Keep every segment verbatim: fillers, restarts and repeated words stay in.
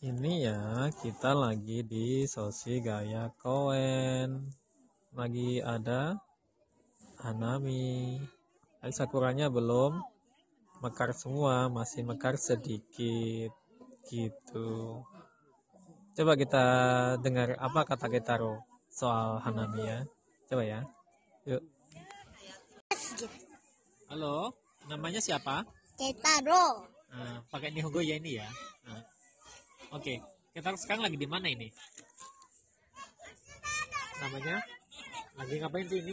Ini ya, kita lagi di Soshi Gaya Koen. Lagi ada Hanami. Tapi sakuranya belum mekar semua, masih mekar sedikit gitu. Coba kita dengar apa kata Getaro soal Hanami ya. Coba ya. Yuk. Halo, namanya siapa? Getaro. Nah, pakai Nihongo ya ini ya. Nah. Oke, kita sekarang lagi di mana ini? Namanya? Lagi ngapain sih ini?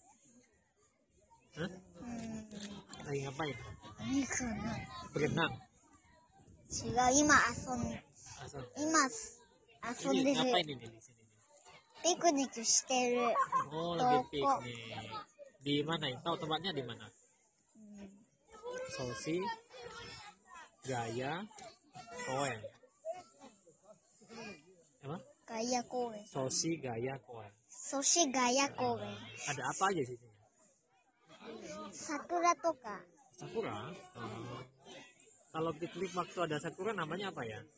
Hah? Hmm, Lagi ngapain? ini kana. Berenang. 違う、今遊ん、 Asal. 今遊ん Ini でる。 ngapain ini di sini? ピクニックしてる。 Oh, lagi Toko. piknik. Di mana? Tahu tempatnya di mana? うん Soshi Gaya Koen. Apa? ガイア公園。 Soshi Gaya Koen. ソシガヤ公園。 Ada apa aja sih? 桜とか、 Sakura. Oh. Kalau piknik waktu ada sakura namanya apa ya?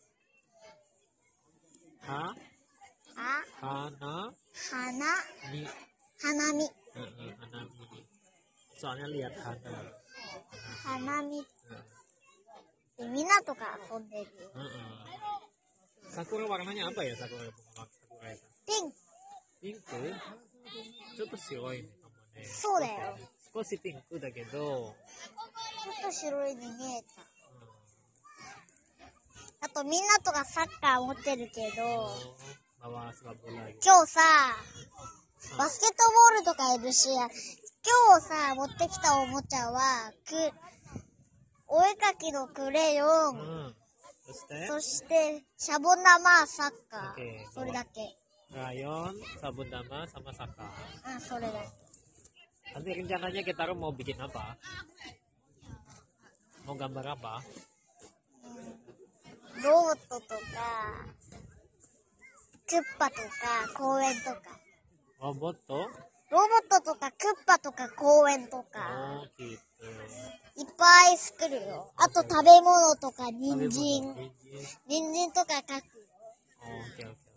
Ha? あ、 Hana 花、 ni. 花見。 Heeh, Hanami. Soalnya lihat Hana. 花見。 Heeh. で、みんなとか遊んでる。 Heeh. Sakura warnanya apa ya sakura? Sakura itu. ピンク。 Pink. ちょっと白いね。 そうだよ。 少しピンクだけど、 ちょっと白いに見えた。あとみんなとかサッカー持ってるけど、 bawa sepak bola gitu. 今日さ、バスケットボールとかいるし、今日さ、持ってきたおもちゃは、く、お絵かきのクレヨン、 Hmm. Terus teh, そして、シャボン玉、サッカ Oke, ー。それだけ。 rayon, sabun dama, sama saka. うん、それだけ。 Nanti rencananya kita mau bikin apa? Mau gambar apa? ロボットとか、クッパとか、公園とか。 Robot tuh? ロボットとか、クッパとか、公園とか、 Oh gitu. いっぱい作るよ。あと食べ物とか、人参。 Biji. 人参とか描く。 Oh, oke oke.